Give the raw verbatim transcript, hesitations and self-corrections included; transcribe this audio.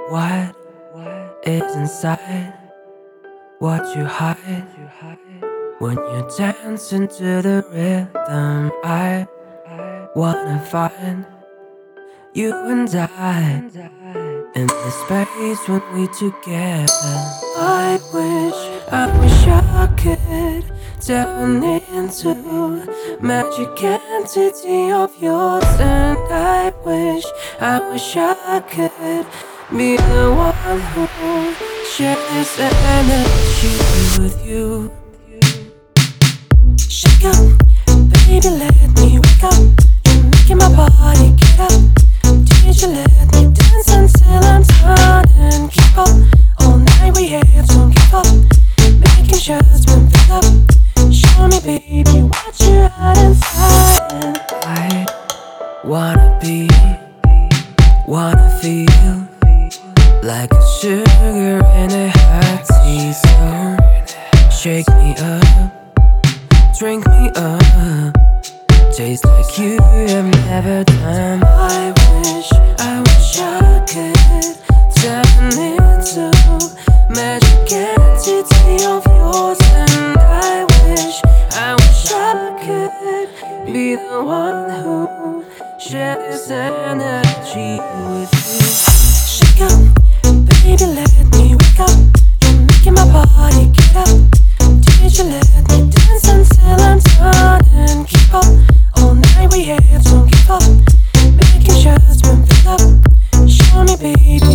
What is inside what you hide when you dance into the rhythm? I wanna find you and I in the space when we together. I wish, I wish I could turn into magic entity of yours, and I wish, I wish I could be the one who shares energy with you. Shake up, baby, let me wake up. You're making my body get up. Did you let me dance until I'm done and keep up? All night we have, don't give up. Making sure it's been filled up. Show me, baby, what you had inside. And I wanna be, wanna feel like a sugar in a hot tea. So shake me up, drink me up, taste like you have never done. I wish, I wish I could turn into magic entity of yours, and I wish, I wish I could be the one who shares energy with you. Shake up, baby, let me wake up. You're making my body get up. Did you let me dance until I'm done and keep up? All night we have, don't give up. Making sure it's been filled up. Show me, baby,